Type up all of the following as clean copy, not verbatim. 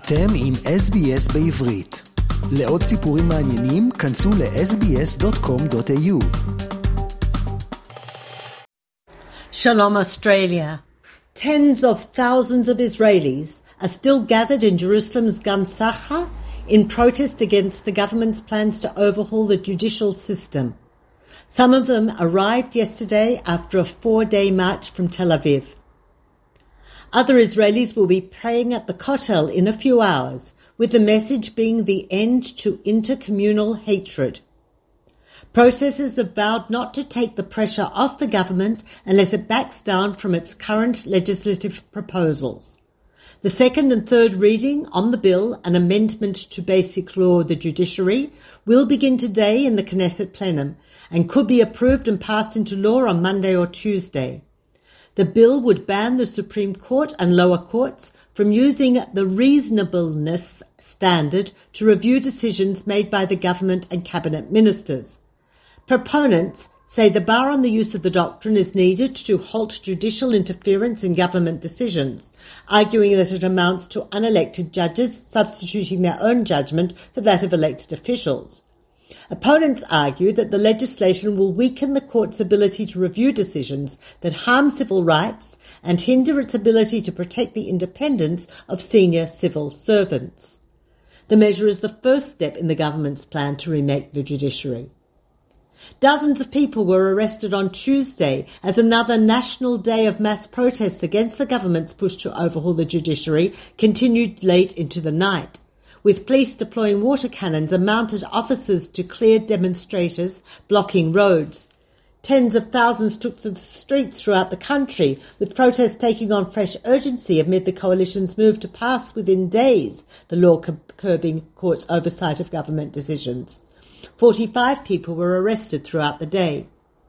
אתם עם SBS בעברית. לעוד סיפורים מעניינים, כנסו ל-sbs.com.au. Shalom Australia. Tens of thousands of Israelis are still gathered in Jerusalem's Gan Sacha in protest against the government's plans to overhaul the judicial system. Some of them arrived yesterday after a 4-day march from Tel Aviv. Other Israelis will be praying at the Kotel in a few hours, with the message being the end to intercommunal hatred. Protesters have vowed not to take the pressure off the government unless it backs down from its current legislative proposals. The second and third reading on the bill, an amendment to Basic Law, the judiciary, will begin today in the Knesset plenum and could be approved and passed into law on Monday or Tuesday. The bill would ban the Supreme Court and lower courts from using the reasonableness standard to review decisions made by the government and cabinet ministers. Proponents say the bar on the use of the doctrine is needed to halt judicial interference in government decisions, arguing that it amounts to unelected judges substituting their own judgment for that of elected officials. Opponents argue that the legislation will weaken the court's ability to review decisions that harm civil rights and hinder its ability to protect the independence of senior civil servants. The measure is the first step in the government's plan to remake the judiciary. Dozens of people were arrested on Tuesday as another national day of mass protests against the government's push to overhaul the judiciary continued late into the night, with police deploying water cannons and mounted officers to clear demonstrators blocking roads. Tens of thousands took to the streets throughout the country, with protests taking on fresh urgency amid the coalition's move to pass within days the law curbing courts' oversight of government decisions. 45 people were arrested throughout the day.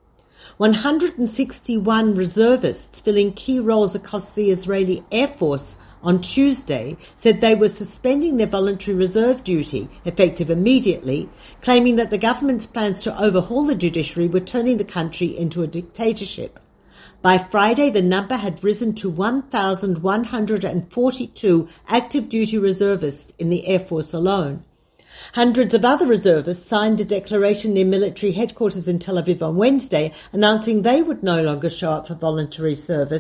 161 reservists filling key roles across the Israeli Air Force on Tuesday said they were suspending their voluntary reserve duty, effective immediately, claiming that the government's plans to overhaul the judiciary were turning the country into a dictatorship. By Friday, the number had risen to 1,142 active duty reservists in the Air Force alone. Hundreds of other reservists signed a declaration near military headquarters in Tel Aviv on Wednesday announcing they would no longer show up for voluntary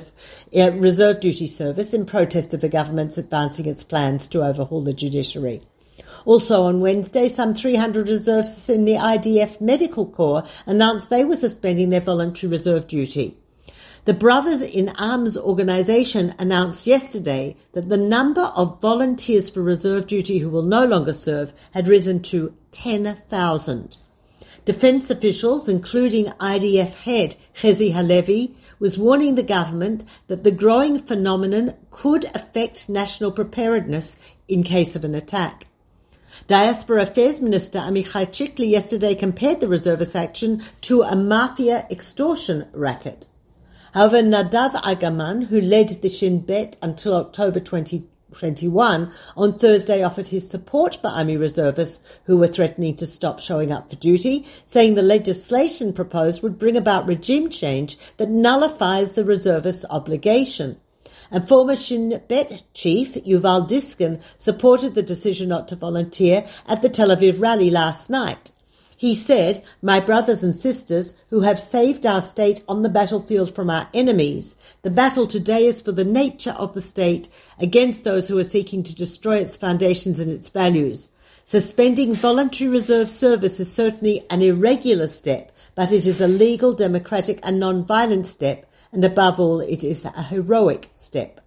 reserve duty service in protest of the government's advancing its plans to overhaul the judiciary. Also on Wednesday, some 300 reservists in the IDF Medical Corps announced they were suspending their voluntary reserve duty. The Brothers in Arms organisation announced yesterday that the number of volunteers for reserve duty who will no longer serve had risen to 10,000. Defence officials, including IDF head Chezi Halevi, was warning the government that the growing phenomenon could affect national preparedness in case of an attack. Diaspora Affairs Minister Amichai Chikli yesterday compared the reservist action to a mafia extortion racket. However, Nadav Agaman, who led the Shin Bet until October 2021, on Thursday offered his support for Army reservists who were threatening to stop showing up for duty, saying the legislation proposed would bring about regime change that nullifies the reservists' obligation. And former Shin Bet chief Yuval Diskin supported the decision not to volunteer at the Tel Aviv rally last night. He said, "My brothers and sisters who have saved our state on the battlefield from our enemies, the battle today is for the nature of the state against those who are seeking to destroy its foundations and its values. Suspending voluntary reserve service is certainly an irregular step, but it is a legal, democratic and non-violent step, and above all, it is a heroic step."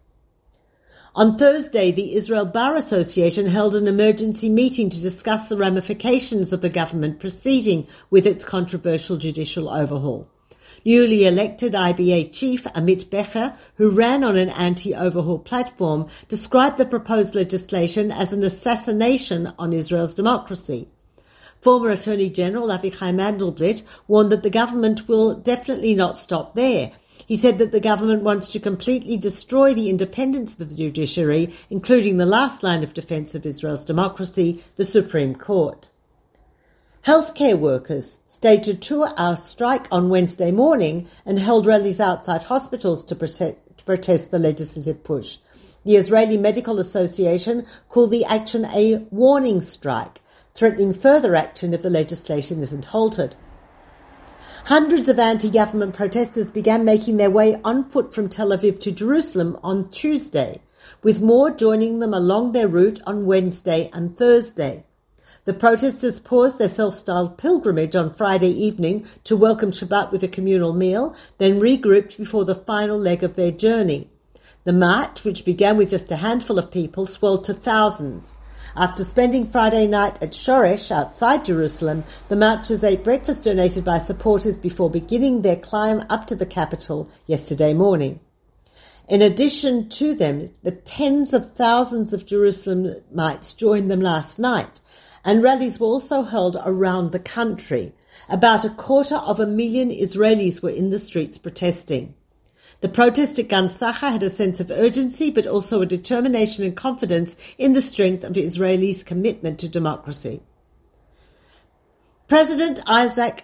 On Thursday, the Israel Bar Association held an emergency meeting to discuss the ramifications of the government proceeding with its controversial judicial overhaul. Newly elected IBA chief Amit Becher, who ran on an anti-overhaul platform, described the proposed legislation as an assassination on Israel's democracy. Former Attorney General Avichai Mandelblit warned that the government will definitely not stop there. He said that the government wants to completely destroy the independence of the judiciary, including the last line of defence of Israel's democracy, the Supreme Court. Healthcare workers staged a 2-hour strike on Wednesday morning and held rallies outside hospitals to protest the legislative push. The Israeli Medical Association called the action a warning strike, threatening further action if the legislation isn't halted. Hundreds of anti-government protesters began making their way on foot from Tel Aviv to Jerusalem on Tuesday, with more joining them along their route on Wednesday and Thursday. The protesters paused their self-styled pilgrimage on Friday evening to welcome Shabbat with a communal meal, then regrouped before the final leg of their journey. The march, which began with just a handful of people, swelled to thousands. After spending Friday night at Shoresh outside Jerusalem, the marchers ate breakfast donated by supporters before beginning their climb up to the capital yesterday morning. In addition to them, the tens of thousands of Jerusalemites joined them last night, and rallies were also held around the country. About 250,000 Israelis were in the streets protesting. The protest at Gan Sacha had a sense of urgency, but also a determination and confidence in the strength of Israelis' commitment to democracy. President Yitzhak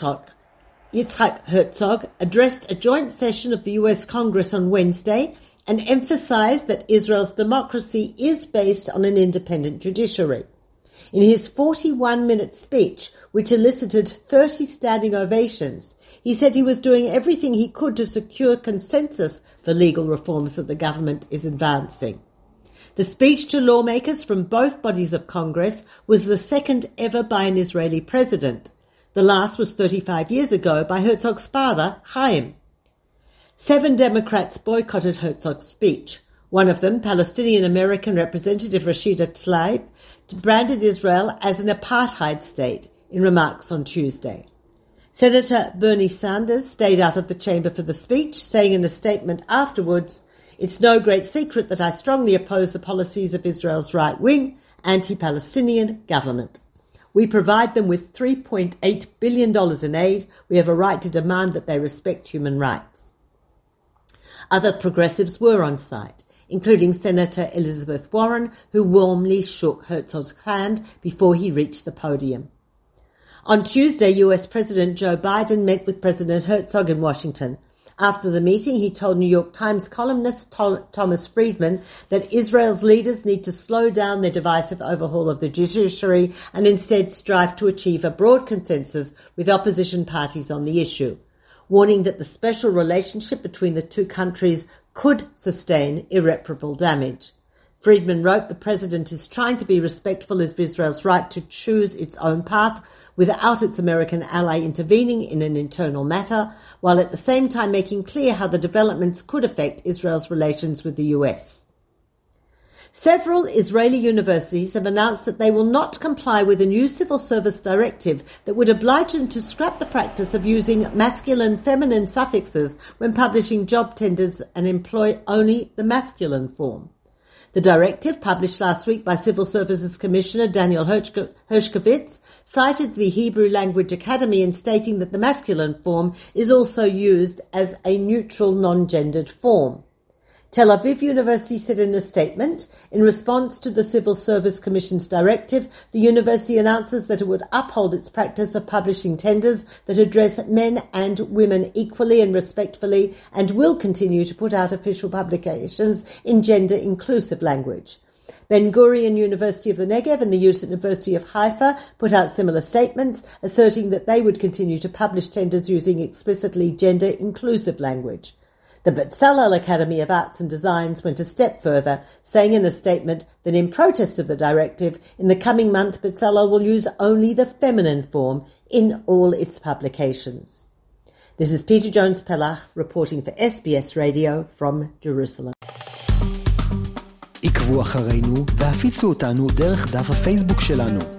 Herzog addressed a joint session of the US Congress on Wednesday and emphasized that Israel's democracy is based on an independent judiciary. In his 41-minute speech, which elicited 30 standing ovations, he said he was doing everything he could to secure consensus for legal reforms that the government is advancing. The speech to lawmakers from both bodies of Congress was the second ever by an Israeli president. The last was 35 years ago by Herzog's father, Chaim. 7 Democrats boycotted Herzog's speech. One of them, Palestinian-American Representative Rashida Tlaib, branded Israel as an apartheid state in remarks on Tuesday. Senator Bernie Sanders stayed out of the chamber for the speech, saying in a statement afterwards, "It's no great secret that I strongly oppose the policies of Israel's right-wing, anti-Palestinian government. We provide them with $3.8 billion in aid. We have a right to demand that they respect human rights." Other progressives were on site, including Senator Elizabeth Warren, who warmly shook Herzog's hand before he reached the podium. On Tuesday, US President Joe Biden met with President Herzog in Washington. After the meeting, he told New York Times columnist Thomas Friedman that Israel's leaders need to slow down their divisive overhaul of the judiciary and instead strive to achieve a broad consensus with opposition parties on the issue, warning that the special relationship between the two countries could sustain irreparable damage. Friedman wrote, "The president is trying to be respectful of Israel's right to choose its own path without its American ally intervening in an internal matter, while at the same time making clear how the developments could affect Israel's relations with the US." Several Israeli universities have announced that they will not comply with a new civil service directive that would oblige them to scrap the practice of using masculine-feminine suffixes when publishing job tenders and employ only the masculine form. The directive, published last week by Civil Services Commissioner Daniel Hershkovitz, cited the Hebrew Language Academy in stating that the masculine form is also used as a neutral, non-gendered form. Tel Aviv University said in a statement, in response to the Civil Service Commission's directive, the university announces that it would uphold its practice of publishing tenders that address men and women equally and respectfully, and will continue to put out official publications in gender-inclusive language. Ben-Gurion University of the Negev and the University of Haifa put out similar statements, asserting that they would continue to publish tenders using explicitly gender-inclusive language. The Bezalel Academy of Arts and Designs went a step further, saying in a statement that in protest of the directive, in the coming month Bezalel will use only the feminine form in all its publications. This is Peter Jones-Pelach reporting for SBS Radio from Jerusalem. עקבו אחרינו והפיצו אותנו דרך דף הפייסבוק שלנו.